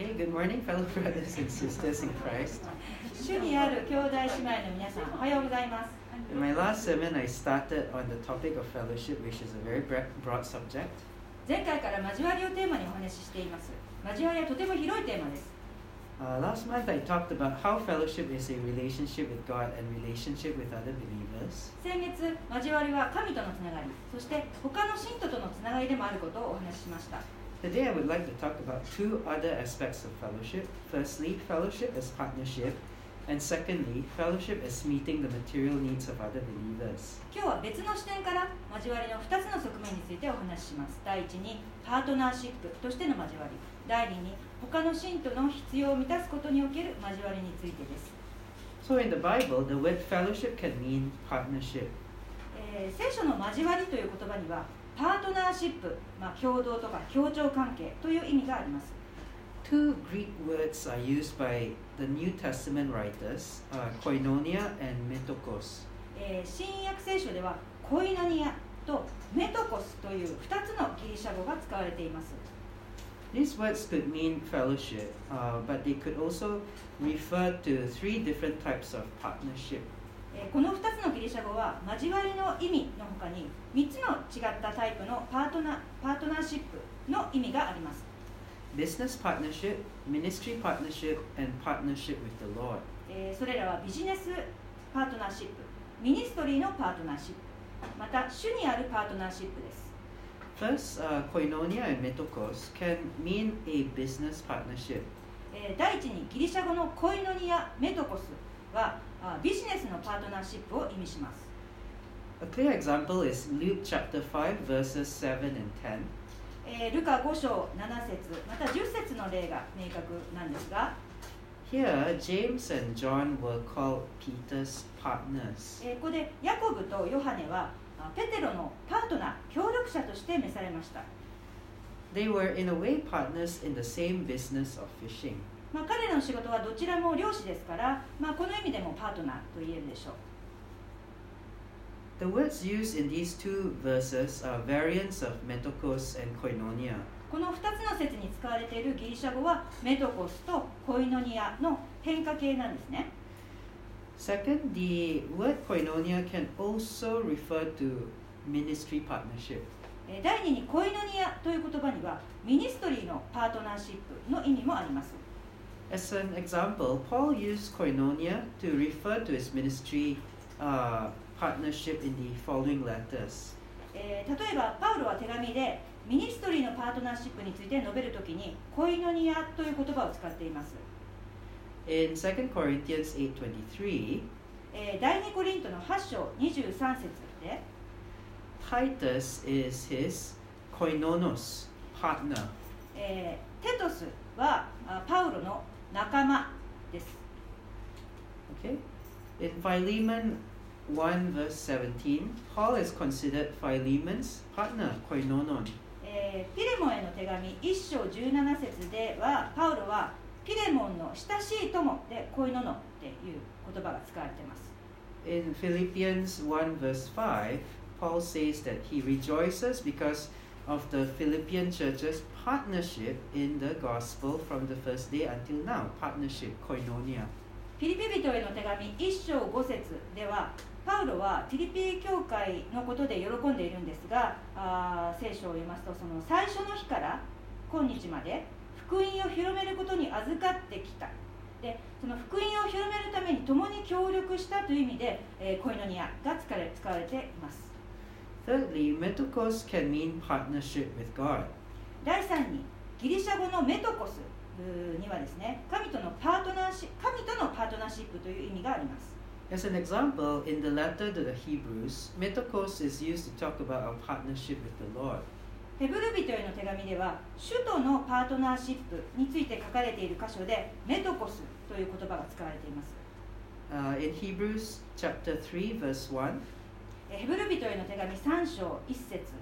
Okay, good morning, fellow brothers and sisters in Christ. 主にある兄弟姉妹の皆さん、おはようございます。 In my last sermon, I started on the topic of fellowship, which is a very broad subject. 前回から交わりをテーマにお話ししています。交わりはとても広いテーマです。 Last month, I talked about how fellowship is a relationship with God and relationship with other believers. 先月、交わりは神とのつながり、そして他の信徒とのつながりでもあることをお話ししました。 Today, I would like to talk about two other aspects of fellowship. Firstly, fellowship as partnership, and secondly, fellowship as meeting the material needs of other believers. 今日は別の視点から交わりの2つの側面についてお話しします。第一にパートナーシップとしての交わり、第二に他の信徒の必要を満たすことにおける交わりについてです。 So in the Bible, the word fellowship can mean partnership. 聖書の交わりという言葉にはパートナーシップ、共同とか協調関係という意味があります。 Two Greek words are used by the New Testament writers, koinonia and metokos. 新約聖書ではコイノニアとメトコスという2つのギリシャ語が使われています。 These words could mean fellowship, but they could also refer to three different types of partnership. この2つのギリシャ語は交わりの意味の他に3つの違ったタイプのパートナーシップの意味があります。 Business partnership, ministry partnership, and partnership with the Lord. それらはビジネスパートナーシップ、ミニストリーのパートナーシップ、また主にあるパートナーシップです。 First, koinonia and metokos can mean a business partnership. 第一にギリシャ語のコイノニア、メトコスはビジネスのパートナーシップを意味します。 A clear example is Luke chapter 5, verses 7 and 10. ルカ5章7節また10節の例が明確なんですが、 Here, James and John were called Peter's partners. ここでヤコブとヨハネはペテロのパートナー、協力者として召されました。 They were in a way partners in the same business of fishing. 彼らの仕事はどちらも漁師ですから、この意味でもパートナーと言えるでしょう。 The words used in these two verses are variants of metokos and koinonia. この2つの説に使われているギリシャ語はメトコスとコイノニアの変化形なんですね。 Second, the word koinonia can also refer to ministry partnership. 第2にコイノニアという言葉にはミニストリーのパートナーシップの意味もあります。 As an example, Paul used koinonia to refer to his ministry partnership in the following letters. 例えばパウロは手紙でミニストリーのパートナーシップについて述べるときにコイノニアという言葉を使っています。 In 2 Corinthians 8:23, 第2コリントの8章23節で Titus is his koinonos partner. テトスはパウロの仲間です。 Okay? In Philemon 1 verse 17, Paul is considered Philemon's partner, koinonon. ピレモンへの手紙1章17節ではパウロはピレモンの親しい友でコイノノっていう言葉が使われています。 In Philippians 1 verse 5, Paul says that he rejoices because of the Philippian church's partnership in the gospel from the first day until now. Partnership, koinonia. フィリピ人への手紙1章5節ではパウロはフィリピ教会のことで喜んでいるんですが、聖書を読みますとその最初の日から今日まで福音を広めることに預かってきた。でその福音を広めるために共に協力したという意味で、コイノニアが使われています。 Thirdly, metokos can mean partnership with God. 第3にギリシャ語のメトコスにはですね、神とのパートナーシップという意味があります。 As an example, in the letter to the Hebrews, metokos is used to talk about our partnership with the Lord. ヘブル人への手紙では主とのパートナーシップについて書かれている箇所でメトコスという言葉が使われています。 In Hebrews chapter 3 verse 1, ヘブル人への手紙3章1節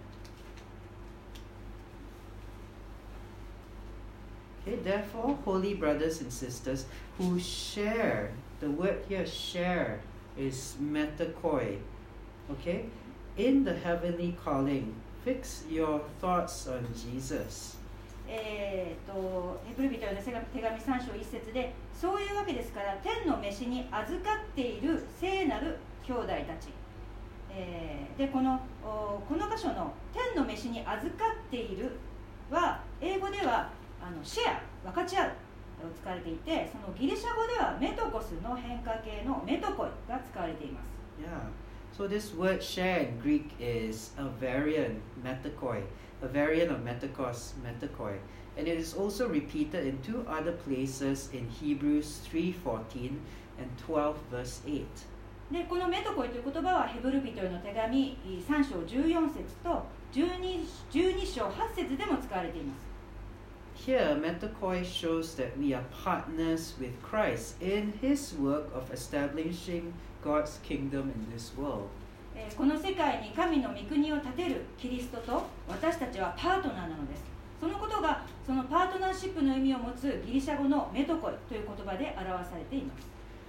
Okay, therefore, holy brothers and sisters who share, the word here share is metakoi, okay, in the heavenly calling, fix your thoughts on Jesus. ヘブル人への手紙3章1節で、そういうわけですから天の召しに預かっている聖なる兄弟たち、でこの箇所の天の召しに預かっているは英語ではシェア、分かち合うを使われていて、そのギリシャ語ではメトコスの変化形のメトコイが使われています。 Yeah. So this word share in Greek is a variant, metakoi, a variant of metakos, metakoi. And it is also repeated in two other places in Hebrews 3:14 and 12 verse 8. でこのメトコイという言葉はヘブル人への手紙3章14節と 12章8節でも使われています。 Here, metakoi shows that we are partners with Christ in His work of establishing God's kingdom in this world. この世界に神の御国を建てるキリストと私たちはパートナーなのです。そのことがそのパートナーシップの意味を持つギリシャ語のメトコイという言葉で表されています。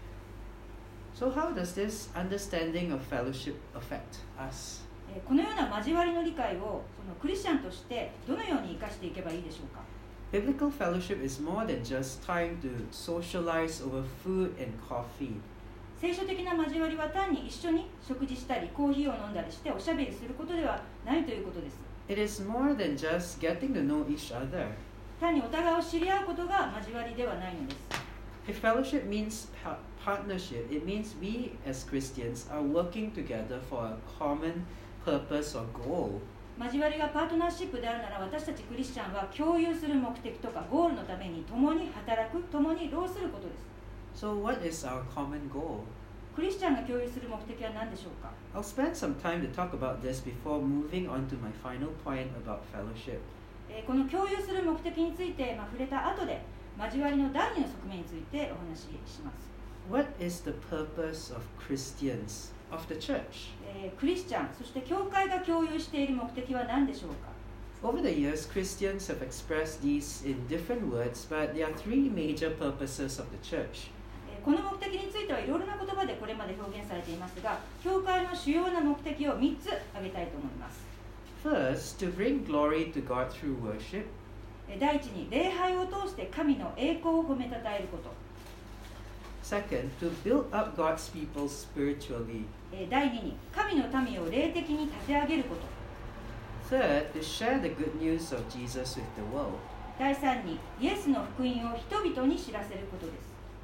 So how does this understanding of fellowship affect us? このような交わりの理解をそのクリスチャンとしてどのように生かしていけばいいでしょうか。 Biblical fellowship is more than just time to socialize over food and coffee. 聖書的な交わりは単に一緒に食事したりコーヒーを飲んだりしておしゃべりすることではないということです。 It is more than just getting to know each other. 単にお互いを知り合うことが交わりではないのです。 If fellowship means partnership, it means we as Christians are working together for a common purpose or goal. 交わりがパートナーシップであるなら、私たちクリスチャンは共有する目的とかゴールのために共に働く、共に労することです。 So what is our common goal? クリスチャンが共有する目的は何でしょうか。 I'll spend some time to talk about this before moving on to my final point about fellowship. この共有する目的について、触れた後で交わりの第二の側面についてお話しします。 What is the purpose of Christians, of the church? クリスチャン、そして教会が共有している目的は何でしょうか。 Over the years, Christians have expressed these in different words, but there are three major purposes of the church. この目的についてはいろいろな言葉でこれまで表現されていますが、教会の主要な目的を3つ挙げたいと思います。 First, to bring glory to God through worship. 第一に礼拝を通して神の栄光を褒めたたえること。 Second, to build up God's people spiritually. 第二に神の民を霊的に立て上げること。 Third, to share the good news of Jesus with the world. 第三にイエスの福音を人々に知らせることです。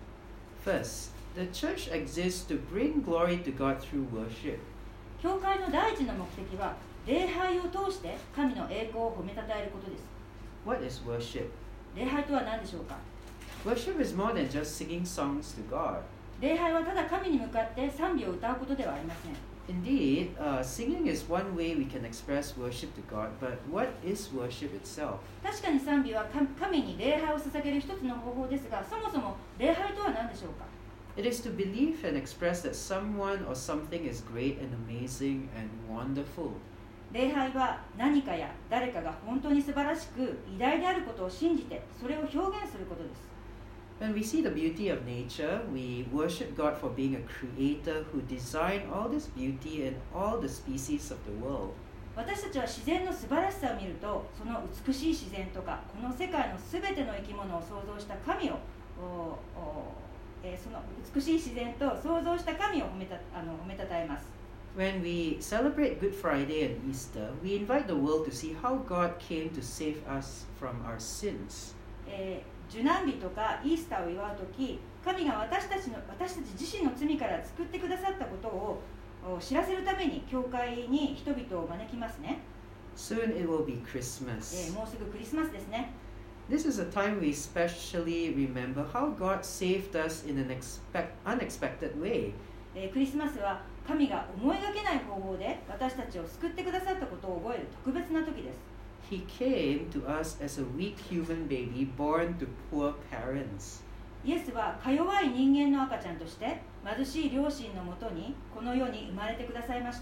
First, the church exists to bring glory to God through worship. 教会の第一の目的は礼拝を通して神の栄光を褒めたたえることです。 What is worship? 礼拝とは何でしょうか。 Worship is more than just singing songs to God. 礼拝はただ神に向かって賛美を歌うことではありません。 Indeed, singing is one way we can express worship to God, but what is worship itself? 確かに賛美は神に礼拝を捧げる一つの方法ですが、そもそも礼拝とは何でしょうか。 It is to believe and express that someone or something is great and amazing and wonderful. 礼拝は何かや誰かが本当に素晴らしく偉大であることを信じてそれを表現することです。 When we see the beauty of nature, we worship God for being a creator who designed all this beauty and all the species of the world. 私たちは自然の素晴らしさを見ると、その美しい自然とかこの世界のすべての生き物を創造した神をその美しい自然と創造した神を褒めたたえます。 When we celebrate Good Friday and Easter, we invite the world to see how God came to save us from our sins. 受難日とかイースターを祝うとき、神が私たち自身の罪から救ってくださったことを知らせるために教会に人々を招きますね。 Soon it will be Christmas. もうすぐクリスマスですね。 This is a time we especially remember how God saved us in an unexpected way. クリスマスは神が思いがけない方法で私たちを救ってくださったことを覚える特別な時です。 He came to us as a weak human baby born to poor parents. イエスはか弱い人間の赤ちゃんとして貧しい両親のもとにこの世に生まれてくださいました。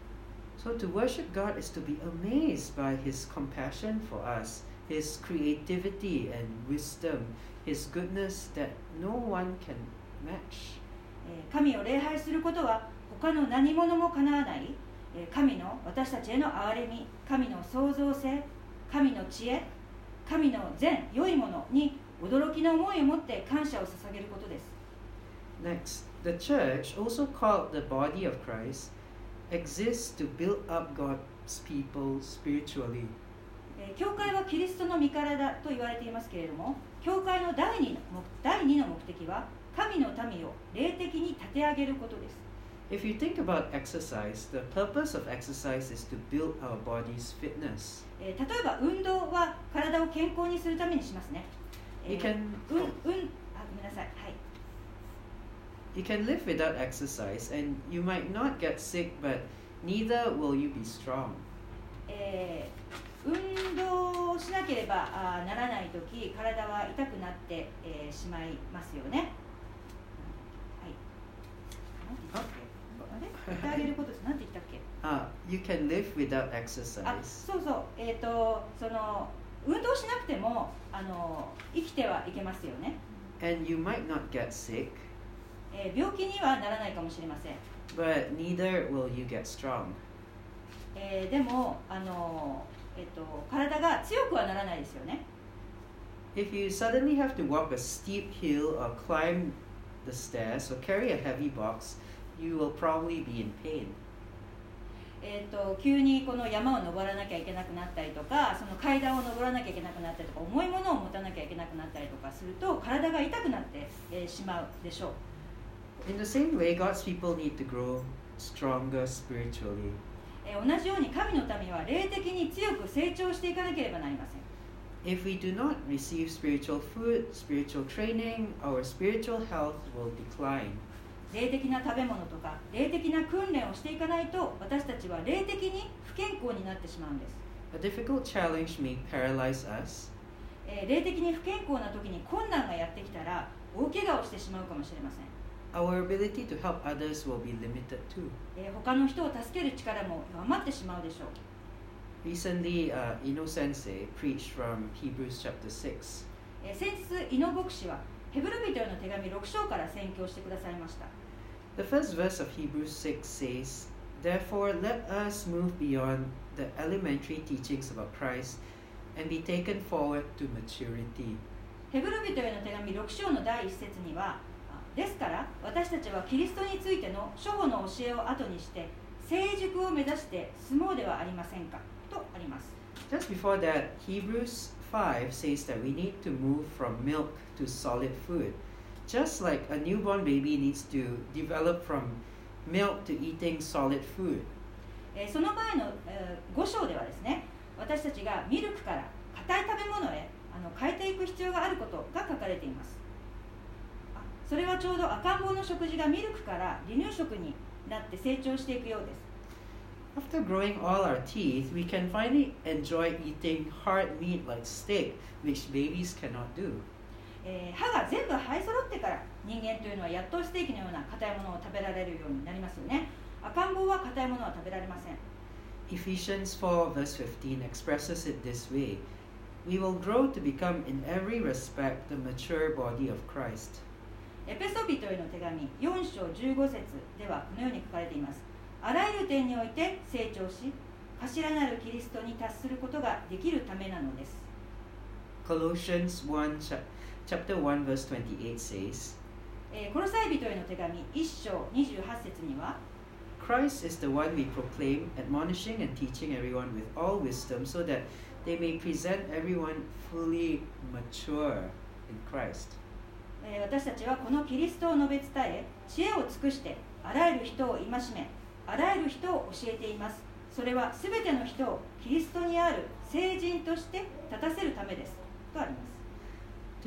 So to worship God is to be amazed by His compassion for us, His creativity and wisdom, His goodness that no one can match. 神を礼拝することは他の何者もかなわない神の私たちへの憐れみ、神の創造性、神の知恵、 神の善良いものに驚きの思いを持って感謝を捧げることです。 Next, the church, also called the body of Christ, exists to build up God's people spiritually. 教会はキリストの身体と言われていますけれども、教会の第二の目的は神の民を霊的に立て上げることです。 If you think about exercise, the purpose of exercise is to build our body's fitness. 例えば運動は体を健康にするためにしますね。 You can, ごめんなさい。はい。 you can live without exercise and you might not get sick, but neither will you be strong. 運動をしなければならないとき、体は痛くなって、しまいますよね。はい。なんて言ったっけ？あれ？立て上げることです。なんて言ったっけ ？You can live without exercise. そうそう。その運動しなくても生きてはいけますよね。 And you might not get sick. 病気にはならないかもしれません。 But neither will you get strong. でも体が強くはならないですよね。 If you suddenly have to walk a steep hill or climb the stairs or carry a heavy box, you will probably be in pain. 急にこの山を登らなきゃいけなくなったりとか、その階段を登らなきゃいけなくなったりとか、重いものを持たなきゃいけなくなったりとかすると、体が痛くなって、しまうでしょう。 In the same way, God's people need to grow stronger spiritually. 同じように神の民は霊的に強く成長していかなければなりません。 If we do not receive spiritual food, spiritual training, our spiritual health will decline. 霊的な食べ物とか霊的な訓練をしていかないと、私たちは霊的に不健康になってしまうんです。 A difficult challenge may paralyze us. 霊的に不健康な時に困難がやってきたら大怪我をしてしまうかもしれません。 Our ability to help others will be limited too. 他の人を助ける力も弱まってしまうでしょう。 Recently, Ino Sensei preached from Hebrews chapter 6. 先日、イノ牧師はヘブル人への手紙6章から宣教してくださいました。 The first verse of Hebrews 6 says, Therefore let us move beyond the elementary teachings about Christ and be taken forward to maturity. ヘブル人への手紙6章の第1節には、ですから私たちはキリストについての初歩の教えを後にして成熟を目指して進もうではありませんかとあります。 Just before that, Hebrews 5 says that we need to move from milk to solid food. Just like a newborn baby needs to develop from milk to eating solid food. その前の、5章ではですね、私たちがミルクから硬い食べ物へ変えていく必要があることが書かれています。それはちょうど赤ん坊の食事がミルクから離乳食になって成長していくようです。 After growing all our teeth, we can finally enjoy eating hard meat like steak, which babies cannot do. 歯が全部生え揃ってから人間というのはやっとステーキのような硬いものを食べられるようになりますよね。赤ん坊は硬いものは食べられません。 Ephesians 4 verse 15 expresses it this way. We will grow to become in every respect the mature body of Christ. エペソビトへの手紙4章15節ではこのように書かれています。あらゆる点において成長し、頭なるキリストに達することができるためなのです。 Colossians 1 chapter 1 verse 28 says, コロサイ人への手紙1章28節には、 Christ is the one we proclaim, admonishing and teaching everyone with all wisdom, so that they may present everyone fully mature in Christ. 私たちはこのキリストを述べ伝え、知恵を尽くしてあらゆる人を戒め、あらゆる人を教えています。それはすべての人をキリストにある聖人として立たせるためですとあります。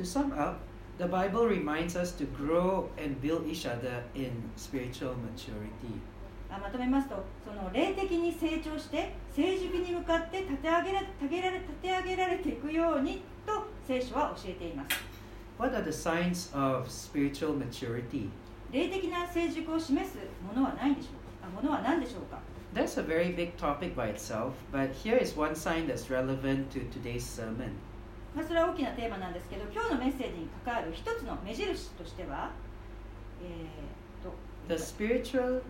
To sum up, the Bible reminds us to grow and build each other in spiritual maturity. まとめますと、その霊的に成長して成熟に向かって立て上げられていくようにと聖書は教えています。 What are the signs of spiritual maturity? 霊的な成熟を示すものはないでしょうか。ものは何でしょうか。 That's a very big topic by itself, but here is one sign that's relevant to today's sermon. それは大きなテーマなんですけど、今日のメッセージに関わる一つの目印としては、 The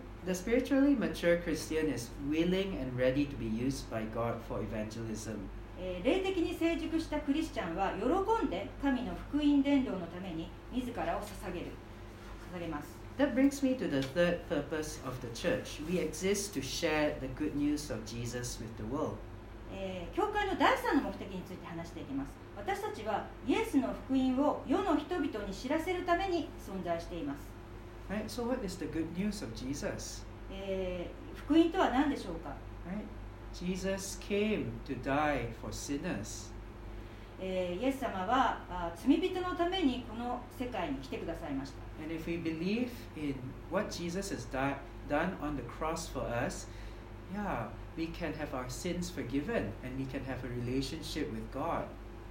spiritually mature Christian is willing and ready to be used by God for evangelism. 霊的に成熟したクリスチャンは喜んで神の福音伝道のために自らを捧げます。 That brings me to the third purpose of the church. We exist to share the good news of Jesus with the world. 教会の第3の目的について話していきます。私たちはイエスの福音を世の人々に知らせるために存在しています。 Right? So what is the good news of Jesus? 福音とは何でしょうか？ Right? Jesus came to die for sinners. イエス様は罪人のためにこの世界に来てくださいました。 And if we believe in what Jesus has done on the cross for us, yeah, we can have our sins forgiven and we can have a relationship with God.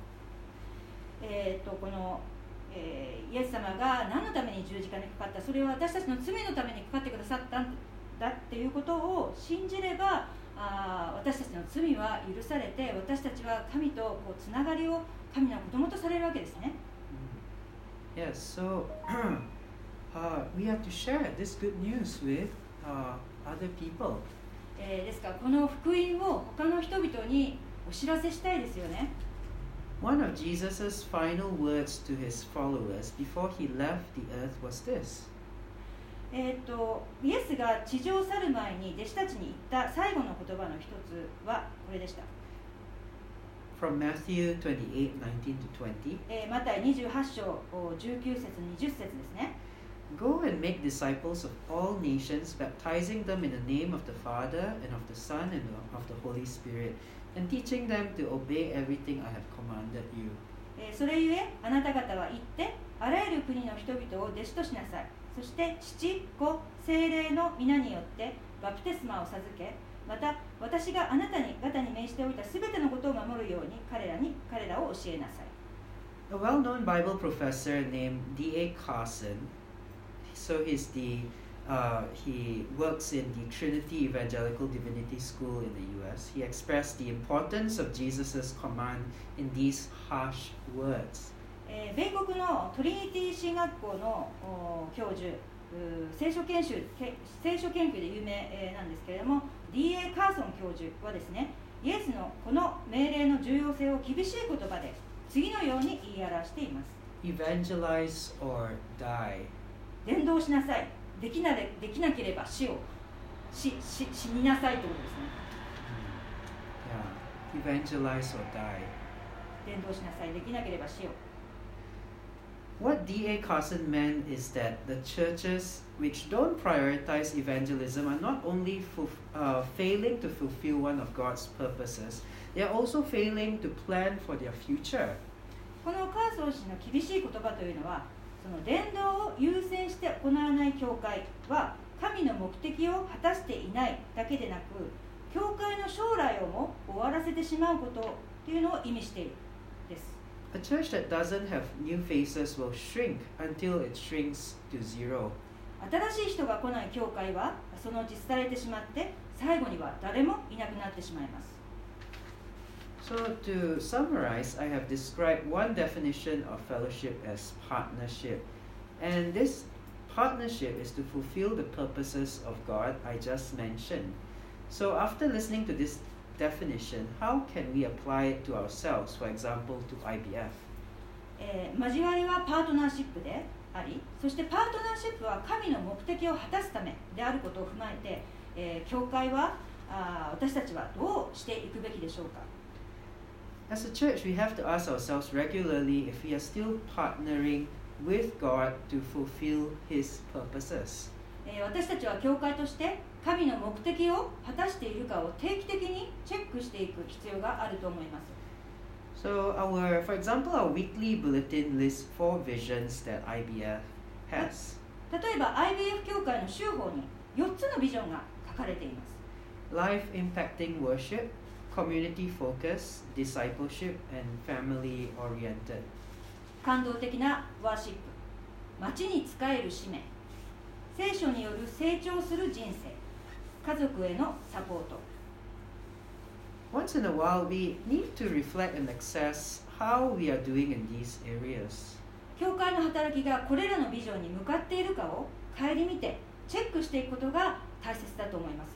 この、イエス様が何のために十字架にかかった、それは私たちの罪のためにかかってくださったんだっていうことを信じれば、私たちの罪は許されて、私たちは神とこうつながりを神の子供とされるわけですね。 Yes, so we have to share this good news with other people. ですからこの福音を他の人々にお知らせしたいですよね。 One of Jesus' final words to his followers before he left the earth was this. イエスが地上を去る前に弟子たちに言った最後の言葉の一つはこれでした。 From Matthew 28:19-20. マタイ28章19節20節ですね。 Go and make disciples of all nations, baptizing them in the name of the Father and of the Son and of the Holy Spirit, and teaching them to obey everything I have commanded you. それゆえあなた方は行ってあらゆる国の人々を弟子としなさい。そして父、子、聖霊の皆によってバプテスマを授け、また私があなた方に命じておいたすべてのことを守るように彼らを教えなさい。 A well-known Bible professor named D.A. Carson, so he works in the Trinity Evangelical Divinity School in the U.S. He expressed the importance of Jesus' command in these harsh words. 米国のトリニティ神学校の教授、聖書研究で有名なんですけれども、D.A. カーソン教授はですね、イエスのこの命令の重要性を厳しい言葉で次のように言い表しています。 Evangelize or die. 伝道しなさい。できなければ死になさいということですね。 Yeah. Evangelize or die. 伝道しなさい。できなければ死を。 What D.A. Carson meant is that the churches which don't prioritize evangelism are not only failing to fulfill one of God's purposes, they are also failing to plan for their future. このカーソン氏の厳しい言葉というのは、その伝道を優先して行わない教会は神の目的を果たしていないだけでなく、教会の将来をも終わらせてしまうことというのを意味しているです。 A church that doesn't have new faces will shrink until it shrinks to zero. 新しい人が来ない教会はそのうち廃れてしまって、最後には誰もいなくなってしまいます。 So to summarize, I have described one definition of fellowship as partnership. And this partnership is to fulfill the purposes of God I just mentioned. So after listening to this definition, how can we apply it to ourselves, for example, to IBF? 交わりはパートナーシップであり、そしてパートナーシップは神の目的を果たすためであることを踏まえて、教会は私たちはどうしていくべきでしょうか。 As a church, we have to ask ourselves regularly if we are still partnering with God to fulfill His purposes. 私たちは教会として神の目的を果たしているかを定期的にチェックしていく必要があると思います。 So for example, our weekly bulletin lists 4 visions that IBF has. 例えば IBF 教会の週報に4つのビジョンが書かれています。 Life impacting worship, community focus, discipleship, and family oriented. 感動的なワーシップ、町に仕える使命、聖書による成長する人生、家族へのサポート。 Once in a while, we need to reflect and assess how we are doing in these areas. 教会の働きがこれらのビジョンに向かっているかを顧みてチェックしていくことが大切だと思います。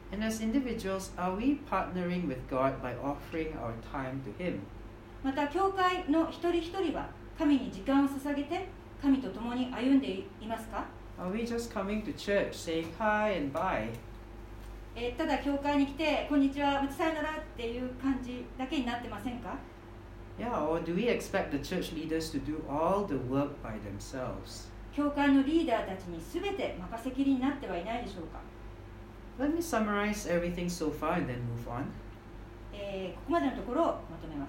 And as individuals, are we partnering with God by offering our time to Him? また教会の一人一人は神に時間を捧げて神と共に歩んでいますか？ Are we just coming to church, saying hi and bye? ただ教会に来てこんにちは、またさよならっていう感じだけになってませんか？ Yeah, or do we expect the church leaders to do all the work by themselves? 教会のリーダーたちに全て任せきりになってはいないでしょうか？ Let me summarize everything so far and then move on. ここまでのところをまとめます。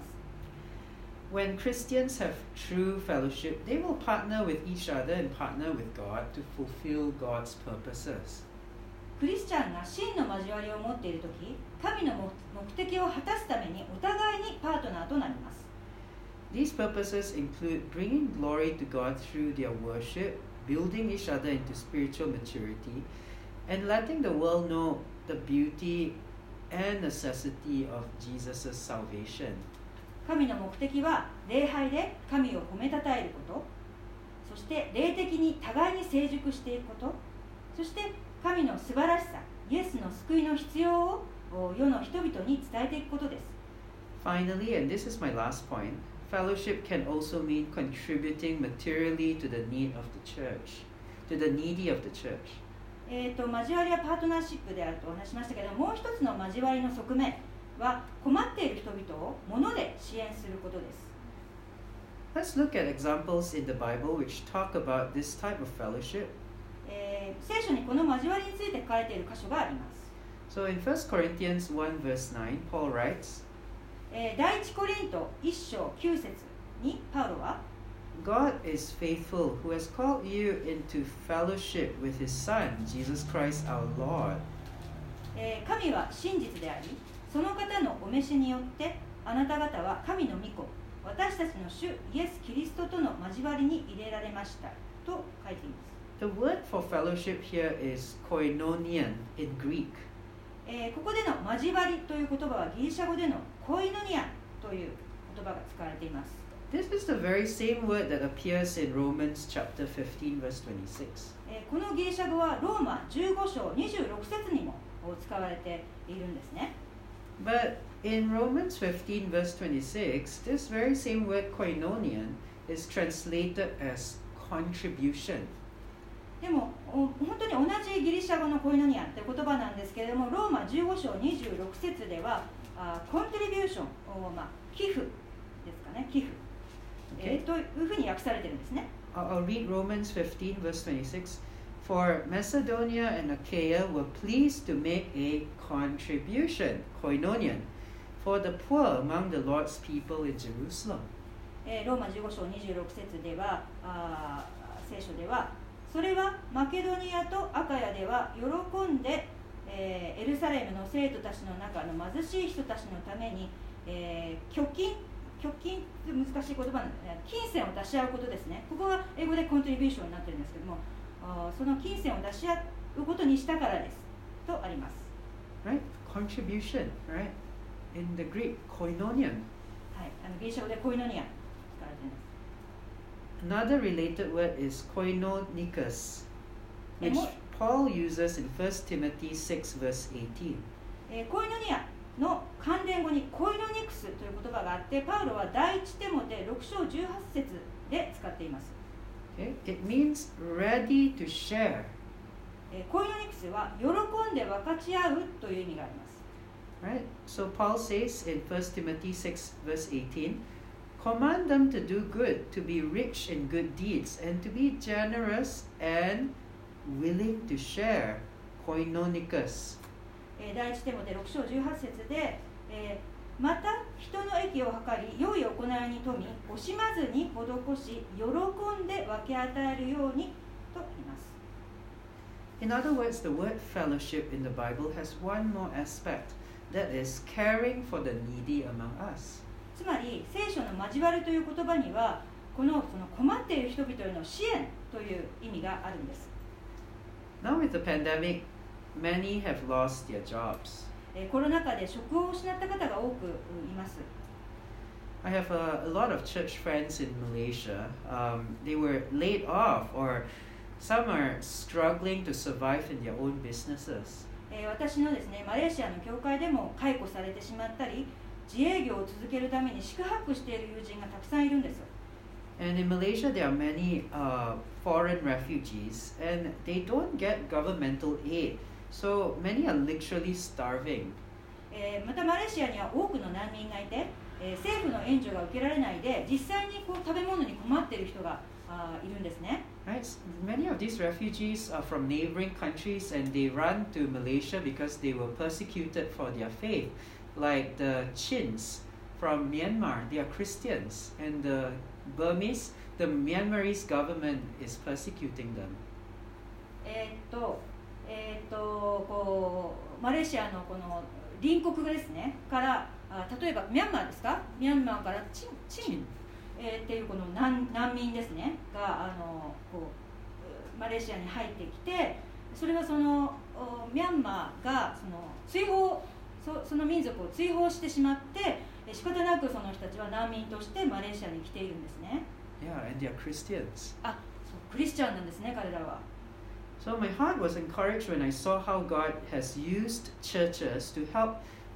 When Christians have true fellowship, they will partner with each other and partner with God to fulfill God's purposes. クリスチャンが真の交わりを持っているとき、神の目的を果たすためにお互いにパートナーとなります。 These purposes include bringing glory to God through their worship, building each other into spiritual maturity, and letting the world know the beauty and necessity of Jesus' salvation. 神の目的は礼拝で神を褒めたたえること、そして霊的に互いに成熟していくこと、そして神の素晴らしさ、イエスの救いの必要を世の人々に伝えていくことです。 Finally, and this is my last point, fellowship can also mean contributing materially to the need of the church, to the needy of the church. 交わりはパートナーシップであるとお話しましたけど、もう一つの交わりの側面は困っている人々を物で支援することです。 Let's look at examples in the Bible which talk about this type of fellowship. 聖書にこの交わりについて書いている箇所があります。 So in 1 Corinthians 1 verse 9, Paul writes, 第一コリント1章9節にパウロは、 God is faithful, who has called you into fellowship with His Son, Jesus Christ our Lord. 神は真実であり、その方のお召しによってあなた方は神の御子、私たちの主イエス・キリストとの交わりに入れられましたと書いています。 The word for fellowship here is koinonian in Greek. ここでの交わりという言葉はギリシャ語でのコイノニアという言葉が使われています。 This is the very same word that appears in Romans chapter 15 verse 26. このギリシャ語はローマ15章26節にも使われているんですね。 But in Romans 15 verse 26, this very same word koinonian is translated as contribution. でも本当に同じギリシャ語のコイノニアという言葉なんですけれども、ローマ15章26節ではコントリビューション、寄付ですかね、寄付、 Okay. というふうに訳されているんですね。 I'll read Romans 15 verse 26. For Macedonia and Achaia were pleased to make a contribution, koinonian, for the poor among the Lord's people in Jerusalem. ローマ15章26節では聖書では、それはマケドニアとアカヤでは喜んで、エルサレムの生徒たちの中の貧しい人たちのために、拠金って難しい言葉なんで、金銭を出し合うことですね。ここは英語でコントリビューションになってるんですけども、その金銭を出し合うことにしたからですとあります。 Right? Contribution, right? In the Greek, koinonian. はい、ギリシャ語でコイノニア使われています。 Another related word is koinonikos, which Paul uses in 1 Timothy 6 verse 18. コイノニアの関連語にコイノニクスという言葉があって、パウロは第一テモテ6章18節で使っています。 Okay? It means ready to share. コイノニクスは喜んで分かち合うという意味があります。 Right? So Paul says in 1 Timothy 6 verse 18, command them to do good, to be rich in good deeds, and to be generous and willing to share. Koinonikos. 第一テモテ6章18節で、また人の益を図り良い行いに富み惜しまずに施し喜んで分け与えるようにと言います。 In other words, the word fellowship in the Bible has one more aspect, that is caring for the needy among us. つまり聖書の交わるという言葉にはその困っている人々への支援という意味があるんです。 Now with the pandemic, many have lost their jobs. コロナ禍で職を失った方が多くいます。 I have a lot of church friends in Malaysia. They were laid off, or some are struggling to survive in their own businesses. 私のですね、マレーシアの教会でも解雇されてしまったり、自営業を続けるために宿泊している友人がたくさんいるんです。 And in Malaysia, there are many foreign refugees, and they don't get governmental aid. So many are literally starving. またマレーシアには多くの難民がいて、政府の援助が受けられないで実際に食べ物に困っている人がいるんですね。 Right? Many of these refugees are from neighboring countries, and they run to Malaysia because they were persecuted for their faith. Like the Chins from Myanmar, they are Christians, and the Myanmarese government is persecuting them. マレーシアのこの隣国ですねから例えばミャンマーですか、ミャンマーからチンっていうこの難民ですねがマレーシアに入ってきて、それはそのミャンマーがその民族を追放してしまって仕方なくその人たちは難民としてマレーシアに来ているんですね。 Yeah, and they are Christians. そうクリスチャンなんですね、彼らは。 So my heart was encouraged when I saw how God has used churches to help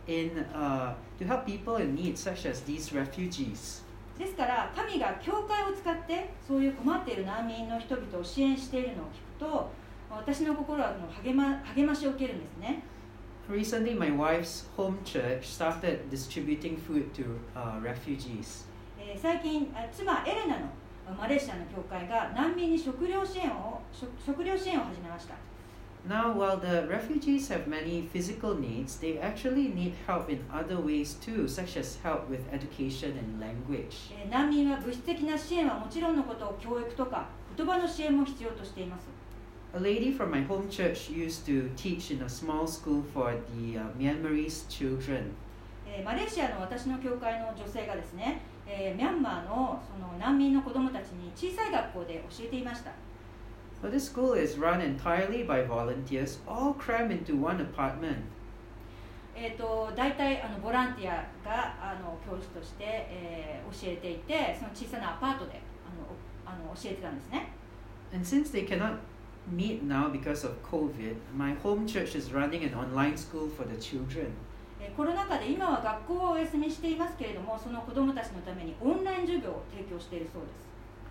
people in need, such as these refugees. ですから神が教会を使ってそういう困っている難民の人々を支援しているのを聞くと、私の心は励ましを受けるんですね。 Recently, my wife's home church started distributing food to refugees. 最近、妻エレナのマレーシアの教会が難民に食料支援を始めました。 Now, while the refugees have many physical needs, they actually need help in other ways too, such as help with education and language. 難民は物質的な支援はもちろんのこと、教育とか言葉の支援も必要としています。 A lady from my home church used to teach in a small school for the Myanmarese children. マレーシアの私の教会の女性がですね、ミャンマーのその難民の子どもたちに小さい学校で教えていました。 So this school is run entirely by volunteers, all crammed into one apartment. 大体ボランティアが教師として、教えていて、その小さなアパートで教えてたんですね。 And since they cannot meet now because of COVID, my home church is running an online school for the children. コロナ禍で今は学校をお休みしていますけれども、その子どもたちのためにオンライン授業を提供しているそうです。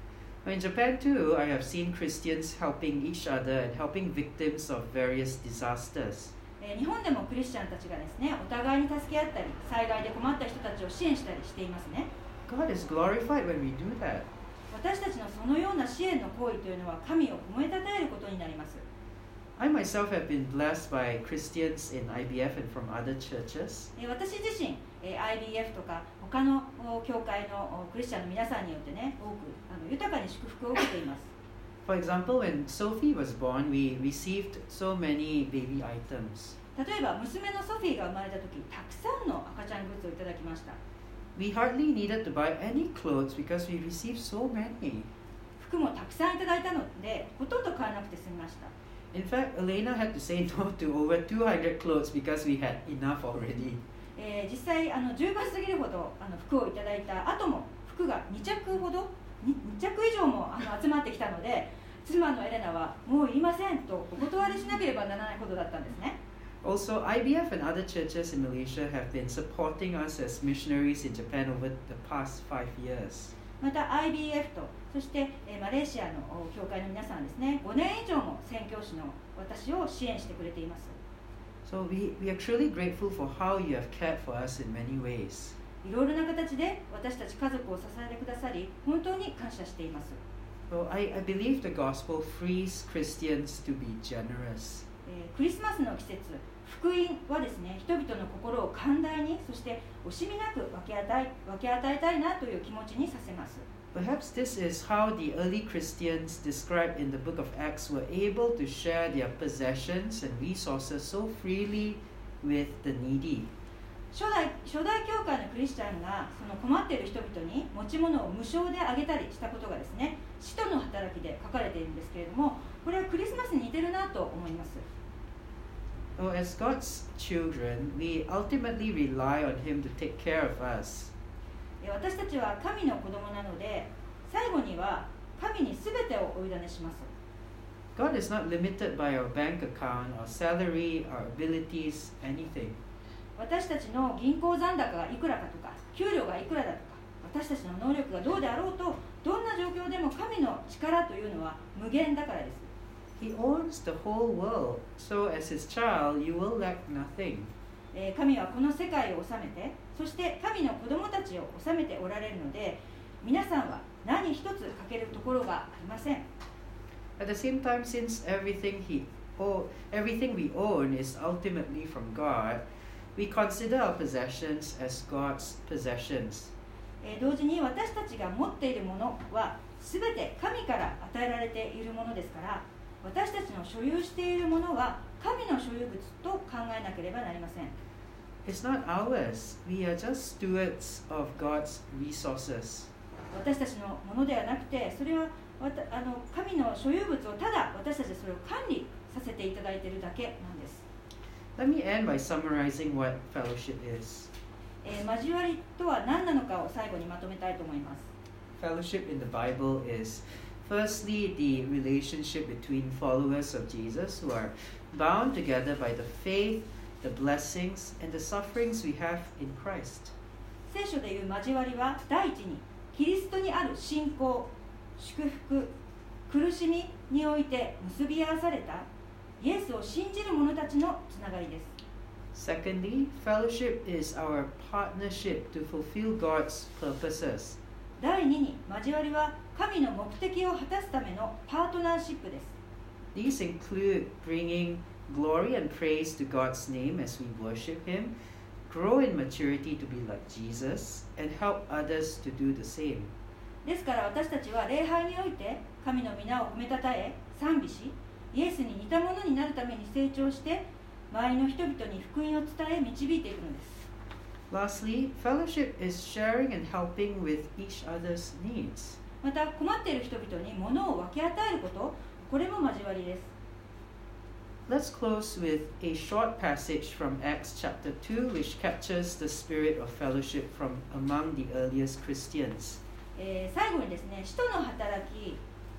In Japan too, I have seen Christians helping each other and helping victims of various disasters. 日本でもクリスチャンたちがですね、お互いに助け合ったり、災害で困った人たちを支援したりしていますね。 God is glorified when we do that. 私たちのそのような支援の行為というのは神を褒めたたえることになります。 I myself have been blessed by Christians in IBF and from other churches. 私自身、IBF とか他の教会のクリスチャンの皆さんによってね、多く豊かに祝福を受けています。 For example, when Sophie was born, we received so many baby items. 例えば娘のソフィーが生まれた時、たくさんの赤ちゃんグッズをいただきました。 We hardly needed to buy any clothes because we received so many. 服もたくさんいただいたので、ほとんど買わなくて済みました。 In fact, Elena had to say no to over 200 clothes because we had enough already. 実際10倍過ぎるほど服をいただいた後も服が2着以上も集まってきたので、妻のエレナはもういりませんとお断りしなければならないことだったんですね。 Also, IBF and other churches in Malaysia have been supporting us as missionaries in Japan over the past 5 years. また IBF とそしてマレーシアの教会の皆さんですね、5年以上も宣教師の私を支援してくれています。 So we are truly grateful for how you have cared for us in many ways. いろいろな形で私たち家族を支えてくださり、本当に感謝しています。 So I believe the gospel frees Christians to be generous. クリスマスの季節、福音はですね、人々の心を寛大に、そして惜しみなく分け与えたいなという気持ちにさせます。 Perhaps this is how the early Christians described in the book of Acts were able to share their possessions and resources so freely with the needy. 初代教会のクリスチャンがその困っている人々に持ち物を無償であげたりしたことがですね、使徒の働きで書かれているんですけれども、これはクリスマスに似てるなと思います。 So as God's children, we ultimately rely on Him to take care of us. 私たちは神の子供なので、最後には神に全てをお委ねします。 God is not limited by our bank account, our salary, our abilities, anything. 私たちの銀行残高がいくらかとか、給料がいくらだとか、私たちの能力がどうであろうと、どんな状況でも神の力というのは無限だからです。 He owns the whole world, so as his child, you will lack nothing. 神はこの世界を治めて、そして神の子供たちを治めておられるので、皆さんは何一つ欠けるところがありません。 At the same time, since everything we own is ultimately from God, we consider our possessions as God's possessions. 同時に私たちが持っているものは全て神から与えられているものですから、私たちの所有しているものは神の所有物と考えなければなりません。 It's not ours. We are just stewards of God's resources. 私たちのものではなくて、それは神の所有物をただ私たちはそれを管理させていただいているだけなんです。 Let me end by summarizing what fellowship is. 交わりとは何なのかを最後にまとめたいと思います。 Fellowship in the Bible is firstly the relationship between followers of Jesus who are bound together by the faith, the blessings, and the sufferings we have in Christ. 聖書でいう交わりは第一にキリストにある信仰、祝福、苦しみにおいて結び合わされたイエスを信じる者たちのつながりです。 Secondly, fellowship is our partnership to fulfill God's purposes. 第二に交わりは神の目的を果たすためのパートナーシップです。 These include bringing glory and praise to God's name as we worship Him, grow in maturity to be like Jesus, and help others to do the same. ですから私たちは礼拝において神の皆を褒めたたえ賛美し、イエスに似たものになるために成長して周りの人々に福音を伝え導いていくのです。 Lastly, fellowship is sharing and helping with each other's needs. また困っている人々に物を分け与えること、これも交わりです。 Let's close with a short passage from Acts chapter 2, which captures the spirit of fellowship from among the earliest Christians. 最後にですね、使徒の働き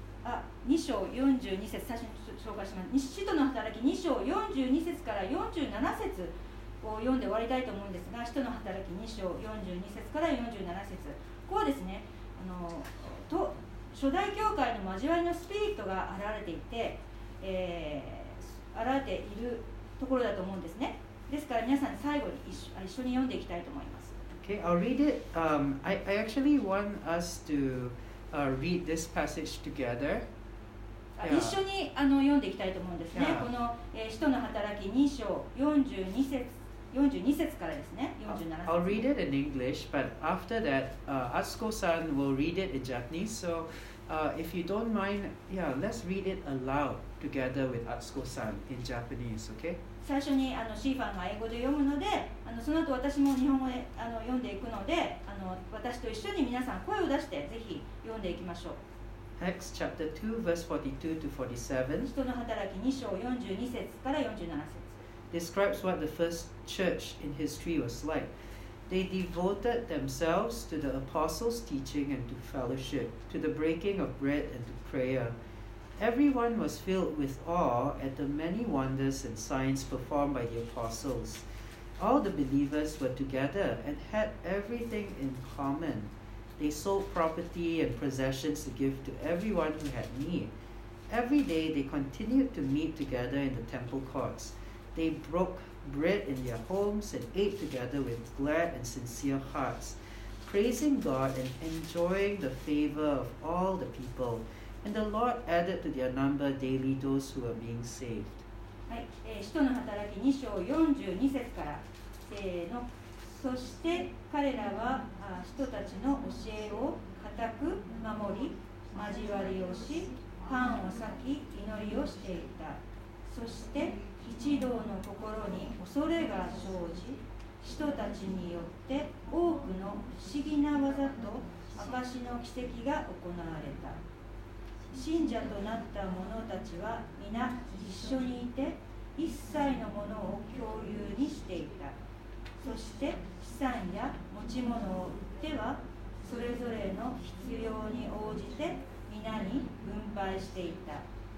2章42節、最初に紹介します。使徒の働き2章42節から47節を読んで終わりたいと思うんですが、使徒の働き2章42節から47節、ここはですね、初代教会の交わりのスピリットが現れていて、現れているところだと思うんですね。ですから皆さん最後に一緒に読んでいきたいと思います。 Okay, I'll read it. I actually want us to read this passage together. 一緒に読んでいきたいと思うんですね。この使徒の働き2章42節からですね、47節。 I'll read it in English, but after that, Atsuko-san will read it in Japanese. So, if you don't mind, let's read it aloud together with Atsuko-san in Japanese, okay? 最初にシーファンが英語で読むので、その後私も日本語で読んでいくので、私と一緒に皆さん声を出してぜひ読んでいきましょう。 Acts chapter 2 verse 42 to 47. 使徒の働き2章42節から47節 describes what the first church in history was like. They devoted themselves to the apostles' teaching and to fellowship, to the breaking of bread and to prayer. Everyone was filled with awe at the many wonders and signs performed by the apostles. All the believers were together and had everything in common. They sold property and possessions to give to everyone who had need. Every day they continued to meet together in the temple courts. They broke bread in their homes and ate together with glad and sincere hearts, praising God and enjoying the favor of all the people. And the Lord added to their number daily those who were being saved. はい、使徒の働き2章42節からせーの。そして彼らは人たちの教えを固く守り、交わりをし、パンを裂き、祈りをしていた。そして一同の心に恐れが生じ、人たちによって多くの不思議な技と証の奇跡が行われた。信者となった者たちは皆一緒にいて、一切のものを共有にしていた。そして資産や持ち物を売っては、それぞれの必要に応じて皆に分配していた。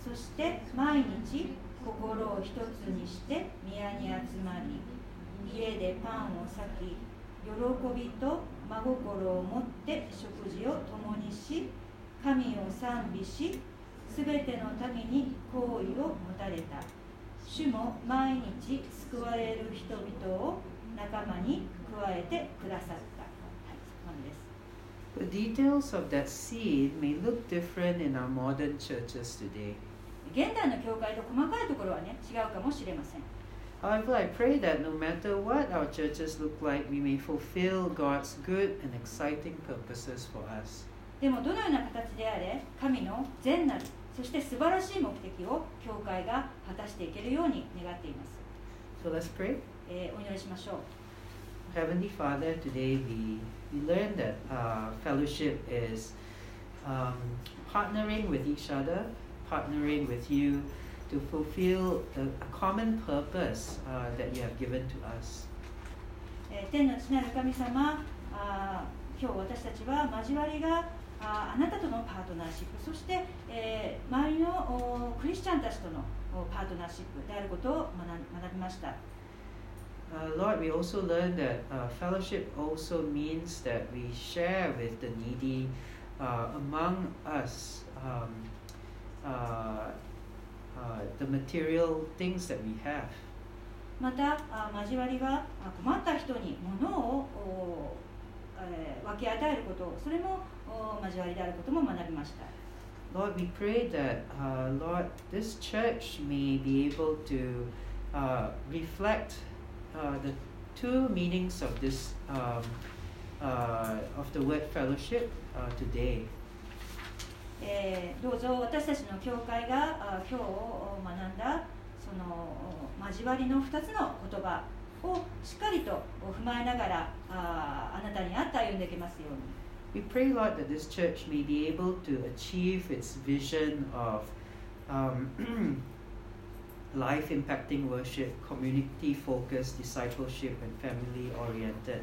そして毎日心を一つにして宮に集まり、家でパンを裂き、喜びと真心を持って食事を共にし、神を賛美し、すべての民に好意を持たれた。主も毎日救われる人々を仲間に加えてくださった。はい、そこまでです。 The details of that seed may look different in our modern churches today. 現代の教会と細かいところはね、違うかもしれません。 However, I pray that no matter what our churches look like, we may fulfill God's good and exciting purposes for us. でもどのような形であれ、神の善なる、そして素晴らしい目的を教会が果たしていけるように願っています。 So let's pray. お祈りしましょう。 Heavenly Father, today we learn that fellowship is partnering with each other, partnering with you to fulfill a common purpose that you have given to us. 天の父なる神様、今日私たちは交わりがあなたとのパートナーシップ、そして、周りのクリスチャンたちとのパートナーシップであることを学びました。 Lord, we also learned that fellowship also means that we share with the needy among us the material things that we have. また交わりは困った人に物を分け与えること、それも交わりであることも学びました。 Lord, we pray that, Lord, this church may be able to reflect the two meanings of this of the word fellowship today. どうぞ私たちの教会が今日学んだその交わりの2つの言葉をしっかりと踏まえながらあなたに合って歩んでいけますように。 We pray, Lord, that this church may be able to achieve its vision of life-impacting worship, community-focused discipleship, and family-oriented.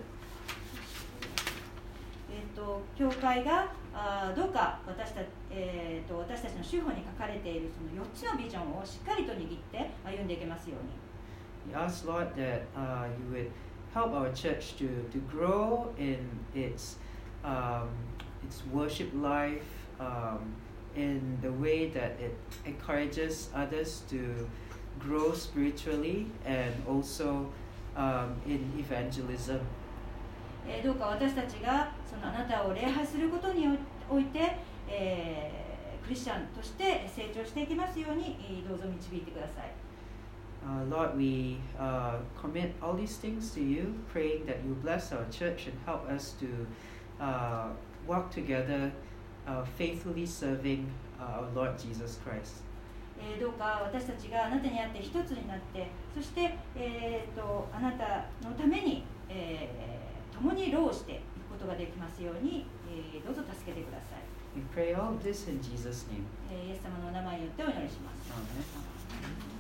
教会がどうか私たちの手法に書かれているその4つのビジョンをしっかりと握って歩んでいけますように。 We ask, Lord, that you would help our church to grow in its worship life, in the way that it encourages others to grow spiritually and also in evangelism. どうか私たちがそのあなたを礼拝することにおいて、クリスチャンとして成長していきますようにどうぞ導いてください。 Lord, we commit all these things to you, praying that you bless our church and help us to walk together, faithfully serving our Lord Jesus Christ. どうか私たちがあなたにあって一つになって、そして、あなたのために、共に労していくことができますように、どうぞ助けてください。 We pray all this in Jesus' name. イエス様のお名前によってお祈りします。 Amen.